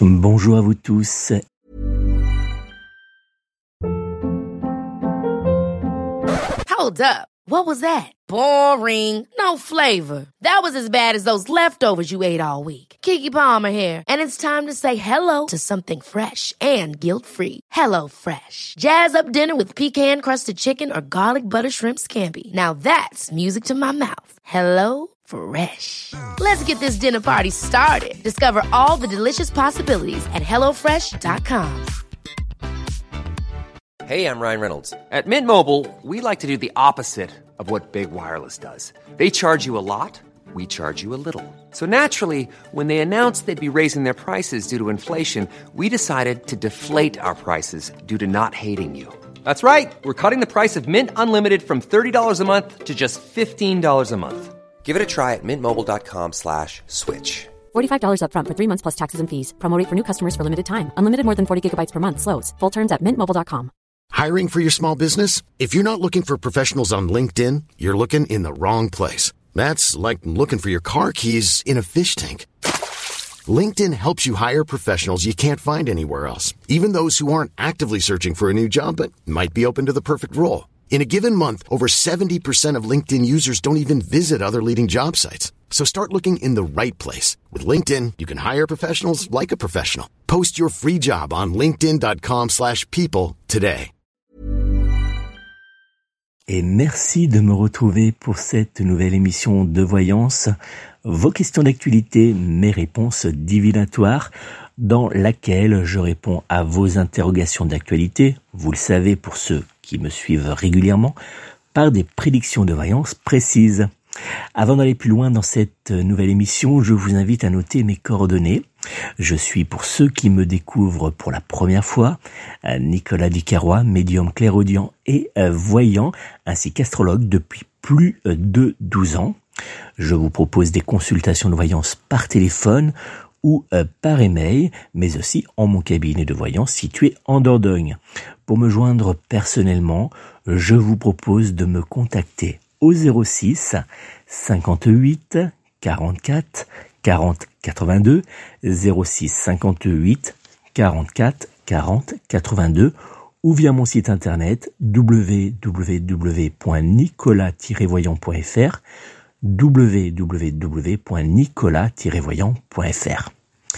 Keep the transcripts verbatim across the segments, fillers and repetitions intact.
Bonjour à vous tous. Hold up. What was that? Boring. No flavor. That was as bad as those leftovers you ate all week. Keke Palmer here, and it's time to say hello to something fresh and guilt-free. Hello Fresh. Jazz up dinner with pecan-crusted chicken or garlic butter shrimp scampi. Now that's music to my mouth. Hello Fresh. Let's get this dinner party started. Discover all the delicious possibilities at hello fresh dot com. Hey, I'm Ryan Reynolds. At Mint Mobile, we like to do the opposite of what Big Wireless does. They charge you a lot, we charge you a little. So naturally, when they announced they'd be raising their prices due to inflation, we decided to deflate our prices due to not hating you. That's right. We're cutting the price of Mint Unlimited from thirty dollars a month to just fifteen dollars a month. Give it a try at mintmobile.com slash switch. forty-five dollars up front for three months plus taxes and fees. Promo rate for new customers for limited time. Unlimited more than forty gigabytes per month. Slows full terms at mint mobile dot com. Hiring for your small business? If you're not looking for professionals on LinkedIn, you're looking in the wrong place. That's like looking for your car keys in a fish tank. LinkedIn helps you hire professionals you can't find anywhere else, even those who aren't actively searching for a new job but might be open to the perfect role. In a given month, over seventy percent of LinkedIn users don't even visit other leading job sites. So start looking in the right place. With LinkedIn, you can hire professionals like a professional. Post your free job on linkedin.com slash people today. Et merci de me retrouver pour cette nouvelle émission de Voyance. Vos questions d'actualité, mes réponses divinatoires, dans laquelle je réponds à vos interrogations d'actualité, vous le savez pour ceux qui me suivent régulièrement, par des prédictions de voyance précises. Avant d'aller plus loin dans cette nouvelle émission, je vous invite à noter mes coordonnées. Je suis, pour ceux qui me découvrent pour la première fois, Nicolas Ducarrois, médium clairaudient et voyant, ainsi qu'astrologue depuis plus de douze ans. Je vous propose des consultations de voyance par téléphone ou par email, mais aussi en mon cabinet de voyance situé en Dordogne. Pour me joindre personnellement, je vous propose de me contacter au zéro six cinquante-huit quarante-quatre quarante quatre-vingt-deux, zéro six cinquante-huit quarante-quatre quarante quatre-vingt-deux ou via mon site internet w w w point nicolas tiret voyant point f r, w w w point nicolas tiret voyant point f r.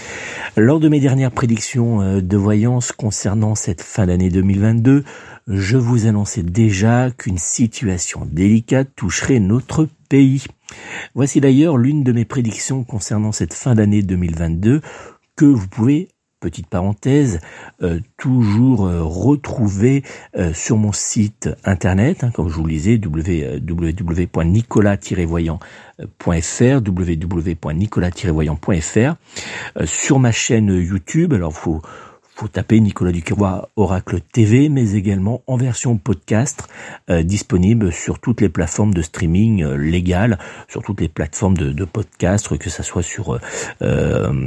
Lors de mes dernières prédictions de voyance concernant cette fin d'année deux mille vingt-deux, je vous annonçais déjà qu'une situation délicate toucherait notre pays. Voici d'ailleurs l'une de mes prédictions concernant cette fin d'année deux mille vingt-deux que vous pouvez, petite parenthèse, euh, toujours euh, retrouver euh, sur mon site internet, hein, comme je vous le disais, w w w point nicolas tiret voyant point f r, w w w point nicolas tiret voyant point f r, euh, sur ma chaîne YouTube. Alors, faut faut taper Nicolas Ducarrois Oracle T V, mais également en version podcast, euh, disponible sur toutes les plateformes de streaming euh, légales, sur toutes les plateformes de, de podcast, que ça soit sur euh,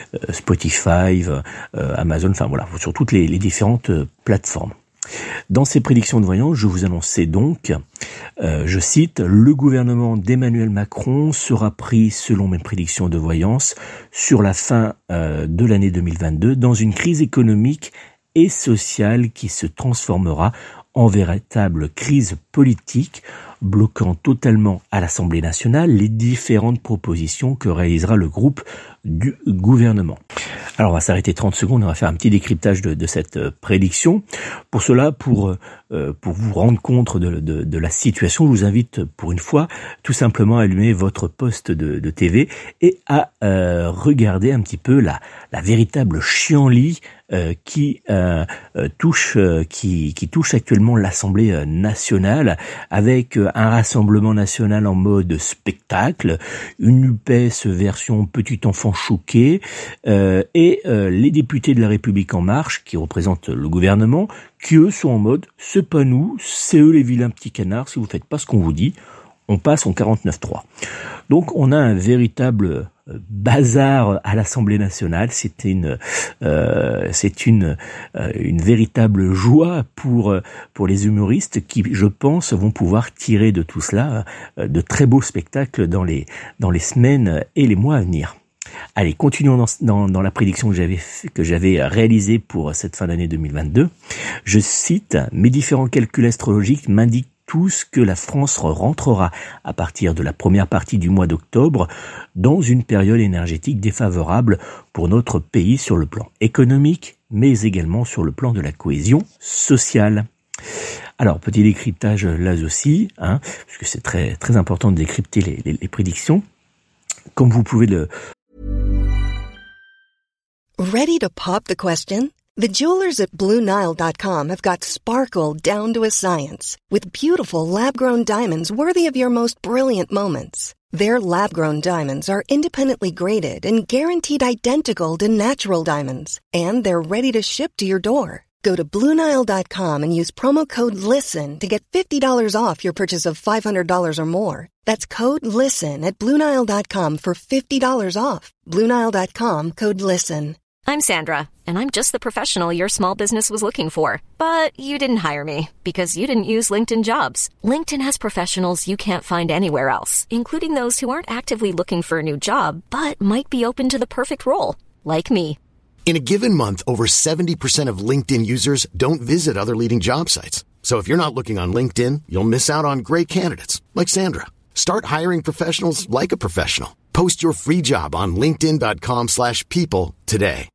Spotify, euh, Amazon, enfin voilà, sur toutes les, les différentes euh, plateformes. Dans ces prédictions de voyance, je vous annonçais donc, euh, je cite, « Le gouvernement d'Emmanuel Macron sera pris, selon mes prédictions de voyance, sur la fin euh, de l'année deux mille vingt-deux dans une crise économique et sociale qui se transformera en véritable crise politique, bloquant totalement à l'Assemblée nationale les différentes propositions que réalisera le groupe du gouvernement. » Alors on va s'arrêter trente secondes, on va faire un petit décryptage de, de cette euh, prédiction. Pour cela, pour euh, pour vous rendre compte de, de, de la situation, je vous invite pour une fois tout simplement à allumer votre poste de, de T V et à euh, regarder un petit peu la, la véritable chienlit euh, qui euh, euh, touche euh, qui, qui touche actuellement l'Assemblée nationale, avec euh, un Rassemblement national en mode spectacle, une U P S version petit enfant choqué, euh, et euh, les députés de la République en marche, qui représentent le gouvernement, qui eux sont en mode « c'est pas nous, c'est eux les vilains petits canards, si vous faites pas ce qu'on vous dit, on passe en quarante-neuf trois ». Donc on a un véritable bazar à l'Assemblée nationale. C'était une, euh, c'est une, euh, une véritable joie pour pour les humoristes qui, je pense, vont pouvoir tirer de tout cela euh, de très beaux spectacles dans les dans les semaines et les mois à venir. Allez, continuons dans, dans, dans la prédiction que j'avais, que j'avais réalisée pour cette fin d'année deux mille vingt-deux. Je cite, « Mes différents calculs astrologiques m'indiquent tous que la France rentrera à partir de la première partie du mois d'octobre dans une période énergétique défavorable pour notre pays sur le plan économique, mais également sur le plan de la cohésion sociale. » Alors, petit décryptage là aussi, hein, parce que c'est très très important de décrypter les, les, les prédictions. Comme vous pouvez le... Ready to pop the question? The jewelers at Blue Nile dot com have got sparkle down to a science with beautiful lab-grown diamonds worthy of your most brilliant moments. Their lab-grown diamonds are independently graded and guaranteed identical to natural diamonds, and they're ready to ship to your door. Go to Blue Nile dot com and use promo code LISTEN to get fifty dollars off your purchase of five hundred dollars or more. That's code LISTEN at Blue Nile dot com for fifty dollars off. Blue Nile dot com, code LISTEN. I'm Sandra, and I'm just the professional your small business was looking for. But you didn't hire me because you didn't use LinkedIn Jobs. LinkedIn has professionals you can't find anywhere else, including those who aren't actively looking for a new job, but might be open to the perfect role, like me. In a given month, over seventy percent of LinkedIn users don't visit other leading job sites. So if you're not looking on LinkedIn, you'll miss out on great candidates like Sandra. Start hiring professionals like a professional. Post your free job on linkedin dot com slash people today.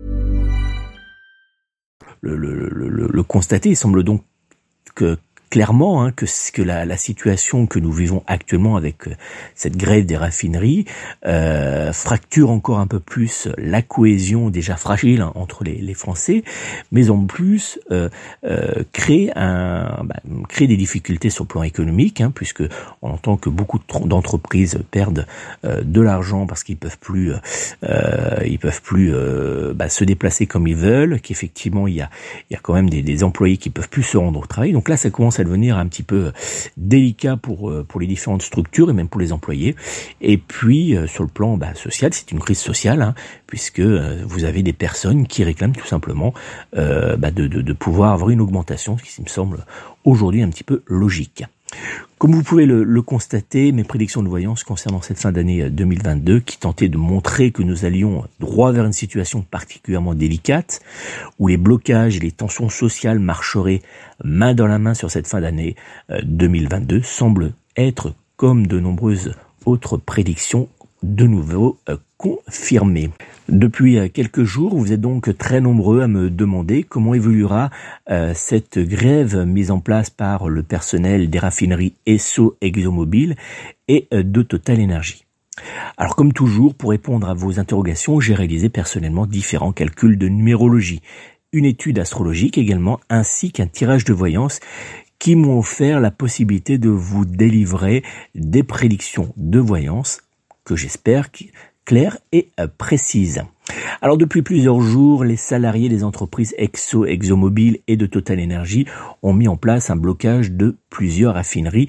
Le, le, le, le constater, il semble donc que clairement hein, que, que la, la situation que nous vivons actuellement avec euh, cette grève des raffineries euh, fracture encore un peu plus la cohésion déjà fragile hein, entre les, les Français, mais en plus euh, euh, crée un bah, crée des difficultés sur le plan économique, hein, puisque on entend que beaucoup d'entreprises perdent euh, de l'argent parce qu'ils peuvent plus euh, ils peuvent plus euh, bah, se déplacer comme ils veulent, qu'effectivement il y a il y a quand même des, des employés qui peuvent plus se rendre au travail. Donc là, ça commence à devenir un petit peu délicat pour pour les différentes structures et même pour les employés. Et puis euh, sur le plan bah, social, c'est une crise sociale, hein, puisque euh, vous avez des personnes qui réclament tout simplement euh, bah, de, de, de pouvoir avoir une augmentation, ce qui me semble aujourd'hui un petit peu logique. Comme vous pouvez le, le constater, mes prédictions de voyance concernant cette fin d'année deux mille vingt-deux, qui tentaient de montrer que nous allions droit vers une situation particulièrement délicate, où les blocages et les tensions sociales marcheraient main dans la main sur cette fin d'année deux mille vingt-deux, semblent être, comme de nombreuses autres prédictions, de nouveau euh, confirmées. Depuis euh, quelques jours, vous êtes donc très nombreux à me demander comment évoluera euh, cette grève mise en place par le personnel des raffineries Esso, ExxonMobil et euh, de Total Energy. Alors comme toujours, pour répondre à vos interrogations, j'ai réalisé personnellement différents calculs de numérologie, une étude astrologique également, ainsi qu'un tirage de voyance qui m'ont offert la possibilité de vous délivrer des prédictions de voyance que j'espère claires et précises. Alors depuis plusieurs jours, les salariés des entreprises Esso, ExxonMobil et de Total Energy ont mis en place un blocage de plusieurs raffineries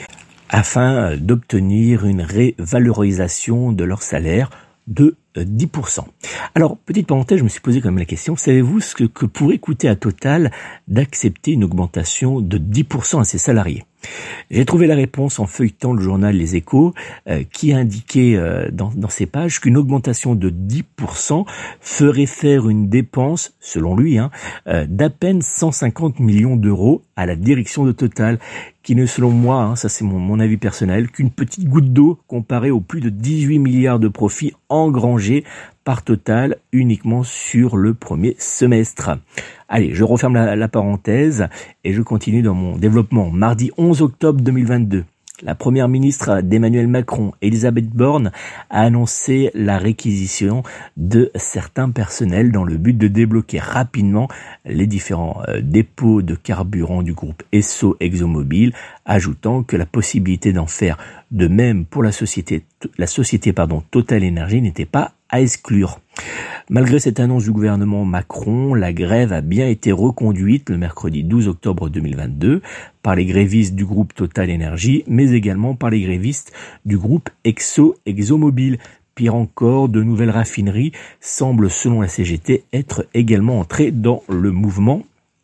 afin d'obtenir une révalorisation de leur salaire de dix pour cent. Alors, petite parenthèse, je me suis posé quand même la question, savez-vous ce que, que pourrait coûter à Total d'accepter une augmentation de dix pour cent à ses salariés ? J'ai trouvé la réponse en feuilletant le journal Les Échos, euh, qui indiquait euh, dans, dans ses pages qu'une augmentation de dix pour cent ferait faire une dépense, selon lui, hein, euh, d'à peine cent cinquante millions d'euros à la direction de Total, qui n'est selon moi, hein, ça c'est mon, mon avis personnel, qu'une petite goutte d'eau comparée aux plus de dix-huit milliards de profits engrangés par Total uniquement sur le premier semestre. Allez, je referme la, la parenthèse et je continue dans mon développement. Mardi onze octobre deux mille vingt-deux, la première ministre d'Emmanuel Macron, Elisabeth Borne, a annoncé la réquisition de certains personnels dans le but de débloquer rapidement les différents euh, dépôts de carburant du groupe Esso ExxonMobil, ajoutant que la possibilité d'en faire de même pour la société, la société pardon, Total Energy n'était pas à exclure. Malgré cette annonce du gouvernement Macron, la grève a bien été reconduite le mercredi douze octobre deux mille vingt-deux par les grévistes du groupe Total Energy, mais également par les grévistes du groupe Esso ExxonMobil. Pire encore, de nouvelles raffineries semblent, selon la C G T, être également entrées dans le mouvement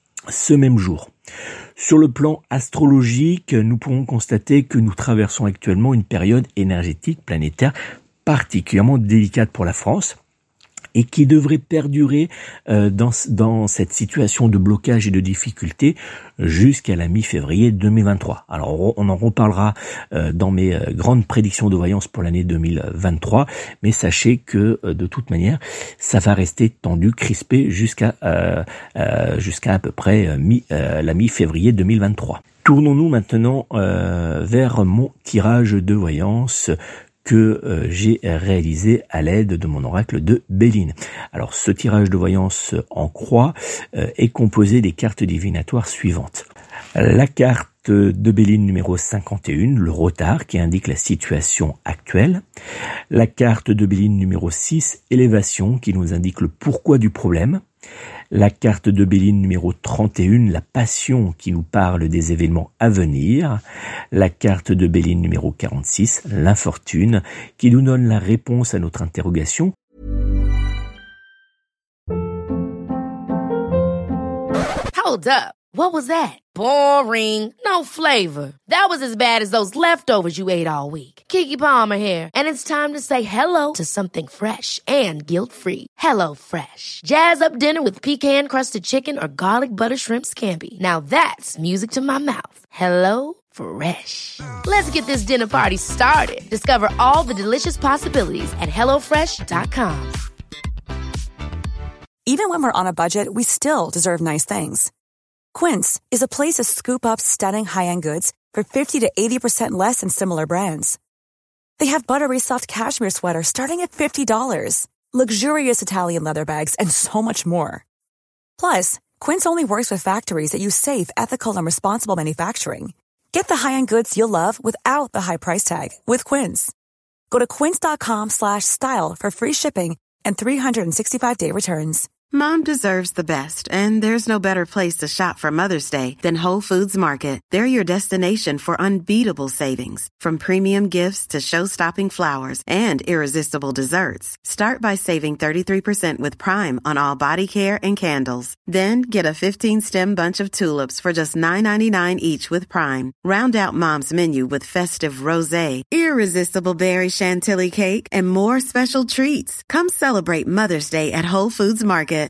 ce même jour. Sur le plan astrologique, nous pouvons constater que nous traversons actuellement une période énergétique planétaire particulièrement délicate pour la France. et qui devrait perdurer euh, dans, dans cette situation de blocage et de difficulté jusqu'à la mi-février deux mille vingt-trois. Alors on en reparlera euh, dans mes euh, grandes prédictions de voyance pour l'année deux mille vingt-trois, mais sachez que euh, de toute manière, ça va rester tendu, crispé jusqu'à euh, euh, jusqu'à à peu près euh, mi, euh, la mi-février deux mille vingt-trois. Tournons-nous maintenant euh, vers mon tirage de voyance que euh, j'ai réalisé à l'aide de mon oracle de Béline. Alors ce tirage de voyance en croix euh, est composé des cartes divinatoires suivantes. La carte de Béline numéro cinquante et un, le retard qui indique la situation actuelle. La carte de Béline numéro six, élévation qui nous indique le pourquoi du problème. La carte de Béline numéro trente et un, la passion qui nous parle des événements à venir. La carte de Béline numéro quarante-six, l'infortune, qui nous donne la réponse à notre interrogation. Hold up. What was that? Boring. No flavor. That was as bad as those leftovers you ate all week. Keke Palmer here, and it's time to say hello to something fresh and guilt-free. Hello Fresh. Jazz up dinner with pecan-crusted chicken or garlic butter shrimp scampi. Now that's music to my mouth. Hello Fresh. Let's get this dinner party started. Discover all the delicious possibilities at hello fresh dot com. Even when we're on a budget, we still deserve nice things. Quince is a place to scoop up stunning high-end goods for fifty to eighty percent less than similar brands. They have buttery soft cashmere sweaters starting at fifty dollars, luxurious Italian leather bags, and so much more. Plus, Quince only works with factories that use safe, ethical, and responsible manufacturing. Get the high-end goods you'll love without the high price tag with Quince. Go to quince.com slash style for free shipping and three sixty-five day returns. Mom deserves the best, and there's no better place to shop for Mother's Day than Whole Foods Market. They're your destination for unbeatable savings, from premium gifts to show-stopping flowers and irresistible desserts. Start by saving thirty-three percent with Prime on all body care and candles. Then get a fifteen-stem bunch of tulips for just nine ninety-nine each with Prime. Round out Mom's menu with festive rosé, irresistible berry chantilly cake, and more special treats. Come celebrate Mother's Day at Whole Foods Market.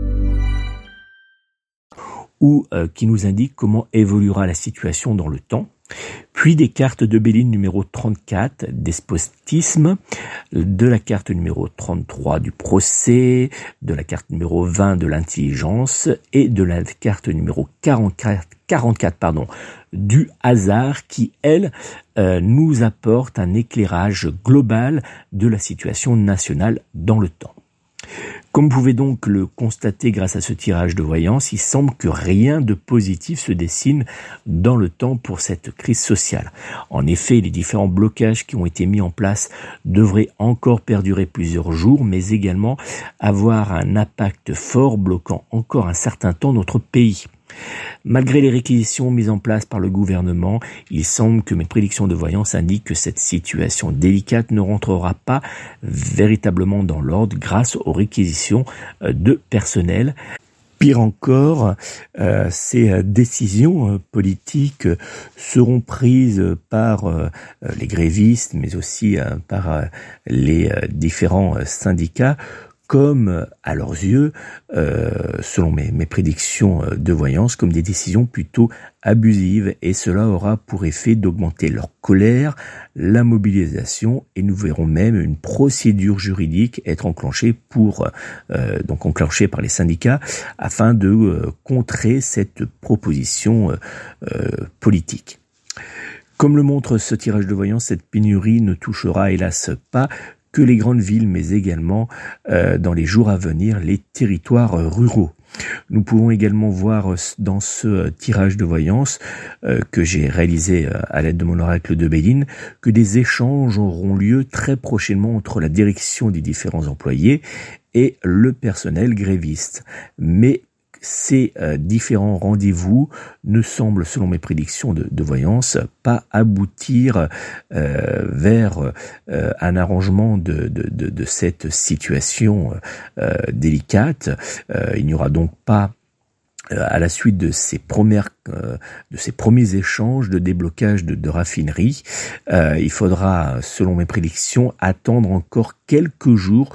Ou euh, qui nous indique comment évoluera la situation dans le temps. Puis des cartes de Béline numéro trente-quatre, despotisme, de la carte numéro trente-trois du procès, de la carte numéro vingt de l'intelligence et de la carte numéro quarante-quatre, quarante-quatre pardon, du hasard qui, elle, euh, nous apporte un éclairage global de la situation nationale dans le temps. Comme vous pouvez donc le constater grâce à ce tirage de voyance, il semble que rien de positif se dessine dans le temps pour cette crise sociale. En effet, les différents blocages qui ont été mis en place devraient encore perdurer plusieurs jours, mais également avoir un impact fort bloquant encore un certain temps notre pays. Malgré les réquisitions mises en place par le gouvernement, il semble que mes prédictions de voyance indiquent que cette situation délicate ne rentrera pas véritablement dans l'ordre grâce aux réquisitions de personnel. Pire encore, euh, ces décisions euh, politiques seront prises par euh, les grévistes, mais aussi euh, par euh, les euh, différents euh, syndicats, comme, à leurs yeux, euh, selon mes, mes prédictions de voyance, comme des décisions plutôt abusives, et cela aura pour effet d'augmenter leur colère, la mobilisation, et nous verrons même une procédure juridique être enclenchée pour, euh, donc enclenchée par les syndicats, afin de euh, contrer cette proposition euh, politique. Comme le montre ce tirage de voyance, cette pénurie ne touchera hélas pas que les grandes villes, mais également euh, dans les jours à venir, les territoires ruraux. Nous pouvons également voir dans ce tirage de voyance euh, que j'ai réalisé euh, à l'aide de mon oracle de Béline que des échanges auront lieu très prochainement entre la direction des différents employés et le personnel gréviste. Mais ces euh, différents rendez-vous ne semblent, selon mes prédictions de, de voyance, pas aboutir euh, vers euh, un arrangement de, de, de, de cette situation euh, délicate. Euh, il n'y aura donc pas, euh, à la suite de ces premières, euh, de ces premiers échanges de déblocage de, de raffinerie, euh, il faudra, selon mes prédictions, attendre encore quelques jours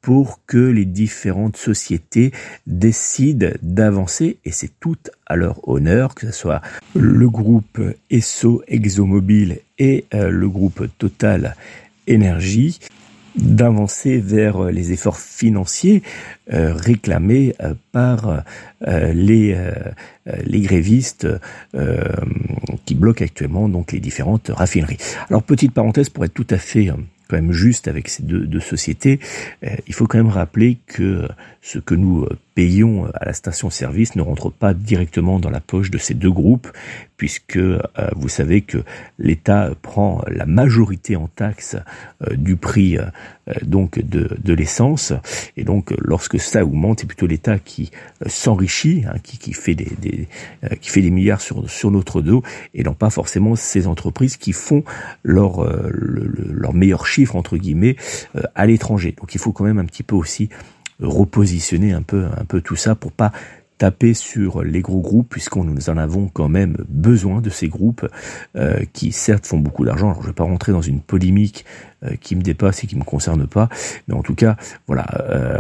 pour que les différentes sociétés décident d'avancer, et c'est tout à leur honneur, que ce soit le groupe Esso, ExxonMobil et euh, le groupe Total Énergie, d'avancer vers les efforts financiers euh, réclamés euh, par euh, les euh, les grévistes euh, qui bloquent actuellement donc les différentes raffineries. Alors, petite parenthèse, pour être tout à fait euh, quand même juste avec ces deux, deux sociétés, euh, il faut quand même rappeler que ce que nous payons à la station-service ne rentre pas directement dans la poche de ces deux groupes, puisque euh, vous savez que l'État prend la majorité en taxes euh, du prix euh, donc de, de l'essence, et donc lorsque ça augmente, c'est plutôt l'État qui euh, s'enrichit, hein, qui, qui fait des, des euh, qui fait des milliards sur sur notre dos, et non pas forcément ces entreprises qui font leur euh, le, le, leur meilleur chiffre entre guillemets euh, à l'étranger. Donc il faut quand même un petit peu aussi repositionner un peu un peu tout ça pour pas taper sur les gros groupes, puisqu'on nous en avons quand même besoin de ces groupes euh, qui certes font beaucoup d'argent. Alors je vais pas rentrer dans une polémique euh, qui me dépasse et qui me concerne pas, mais en tout cas voilà, euh,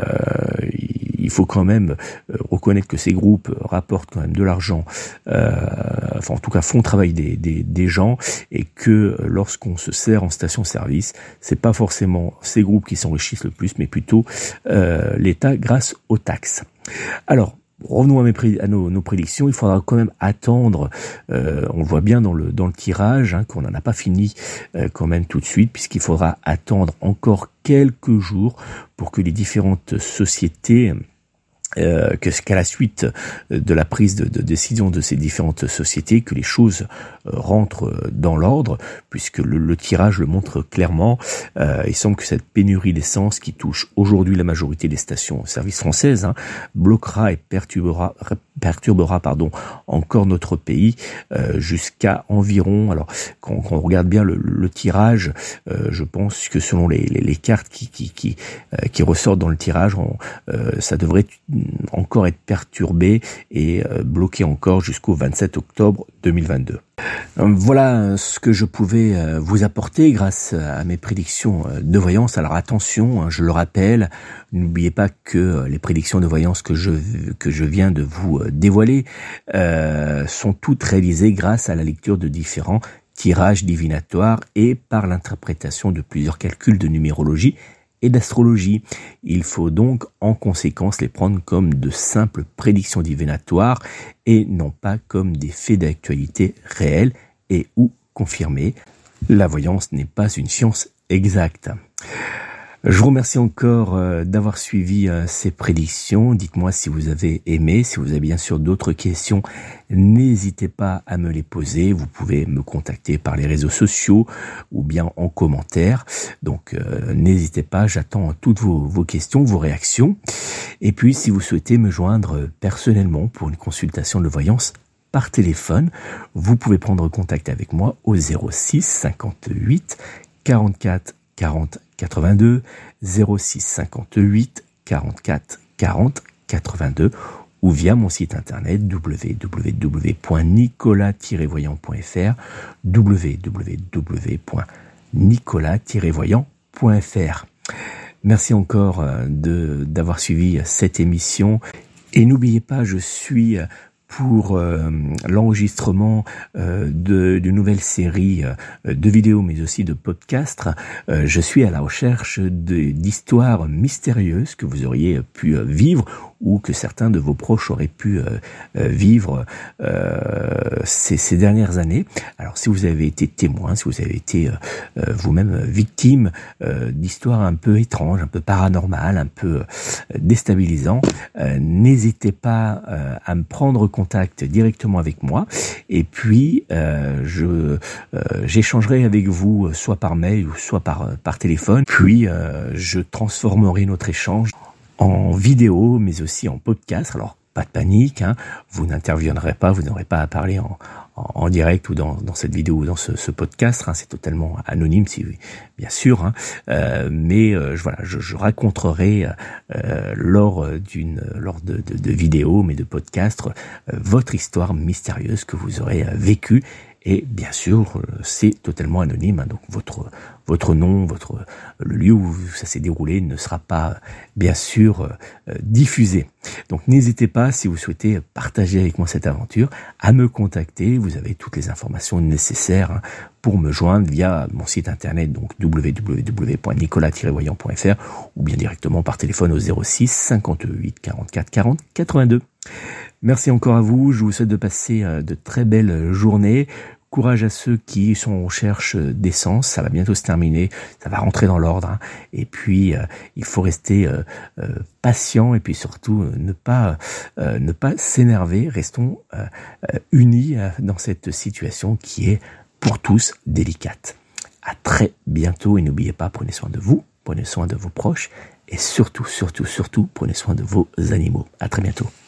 il faut quand même reconnaître que ces groupes rapportent quand même de l'argent, euh, enfin en tout cas font travailler des, des, des gens, et que lorsqu'on se sert en station-service, c'est pas forcément ces groupes qui s'enrichissent le plus, mais plutôt euh, l'État grâce aux taxes. Alors, revenons à, mes pré- à nos, nos prédictions. Il faudra quand même attendre, euh, on le voit bien dans le, dans le tirage, hein, qu'on n'en a pas fini euh, quand même tout de suite, puisqu'il faudra attendre encore quelques jours pour que les différentes sociétés, Euh, que qu'à la suite de la prise de, de décision de ces différentes sociétés, que les choses euh, rentrent dans l'ordre, puisque le, le tirage le montre clairement. Euh, il semble que cette pénurie d'essence qui touche aujourd'hui la majorité des stations-service françaises hein, bloquera et perturbera, perturbera pardon, encore notre pays euh, jusqu'à environ. Alors, quand, quand on regarde bien le, le tirage, euh, je pense que selon les, les, les cartes qui qui qui, euh, qui ressortent dans le tirage, on, euh, ça devrait encore être perturbé et euh, bloqué encore jusqu'au vingt-sept octobre deux mille vingt-deux. Voilà ce que je pouvais euh, vous apporter grâce à mes prédictions de voyance. Alors attention, hein, je le rappelle, n'oubliez pas que euh, les prédictions de voyance que je que je viens de vous euh, dévoiler euh, sont toutes réalisées grâce à la lecture de différents tirages divinatoires et par l'interprétation de plusieurs calculs de numérologie et d'astrologie. Il faut donc en conséquence les prendre comme de simples prédictions divinatoires et non pas comme des faits d'actualité réels et ou confirmés. La voyance n'est pas une science exacte. Je vous remercie encore euh, d'avoir suivi euh, ces prédictions. Dites-moi si vous avez aimé. Si vous avez bien sûr d'autres questions, n'hésitez pas à me les poser. Vous pouvez me contacter par les réseaux sociaux ou bien en commentaire. Donc euh, n'hésitez pas, j'attends toutes vos, vos questions, vos réactions. Et puis si vous souhaitez me joindre personnellement pour une consultation de voyance par téléphone, vous pouvez prendre contact avec moi au zéro six cinquante-huit quarante-quatre quarante quatre-vingt-deux, zéro six cinquante-huit quarante-quatre quarante quatre-vingt-deux, ou via mon site internet w w w point nicolas tiret voyant point f r, w w w point nicolas tiret voyant point f r. Merci encore de d'avoir suivi cette émission, et n'oubliez pas, je suis pour euh, l'enregistrement euh, de d'une nouvelle série euh, de vidéos, mais aussi de podcasts. Euh, je suis à la recherche de, d'histoires mystérieuses que vous auriez pu euh, vivre, ou que certains de vos proches auraient pu euh, euh, vivre euh, ces, ces dernières années. Alors, si vous avez été témoin, si vous avez été euh, vous-même victime euh, d'histoires un peu étranges, un peu paranormales, un peu euh, déstabilisantes, euh, n'hésitez pas euh, à me prendre contact directement avec moi, et puis euh, je euh, j'échangerai avec vous soit par mail ou soit par par téléphone. Puis euh, je transformerai notre échange en vidéo, mais aussi en podcast. Alors, pas de panique, hein, vous n'interviendrez pas, vous n'aurez pas à parler en, en, en direct ou dans, dans cette vidéo ou dans ce, ce podcast, hein, c'est totalement anonyme, si, bien sûr, hein, euh, mais euh, je, voilà, je, je raconterai euh, lors d'une lors de, de, de vidéos, mais de podcasts, euh, votre histoire mystérieuse que vous aurez euh, vécue. Et bien sûr, c'est totalement anonyme, hein, donc votre votre nom, votre le lieu où ça s'est déroulé ne sera pas bien sûr euh, diffusé. Donc n'hésitez pas, si vous souhaitez partager avec moi cette aventure, à me contacter. Vous avez toutes les informations nécessaires hein, pour me joindre via mon site internet, donc w w w point nicolas tiret voyant point f r, ou bien directement par téléphone au zéro six cinquante-huit quarante-quatre quarante quatre-vingt-deux. Merci encore à vous, je vous souhaite de passer de très belles journées. Courage à ceux qui sont en recherche d'essence, ça va bientôt se terminer, ça va rentrer dans l'ordre. Hein. Et puis, euh, il faut rester euh, euh, patient et puis surtout euh, ne pas euh, ne pas s'énerver. Restons euh, euh, unis euh, dans cette situation qui est pour tous délicate. À très bientôt et n'oubliez pas, prenez soin de vous, prenez soin de vos proches et surtout, surtout, surtout, prenez soin de vos animaux. À très bientôt.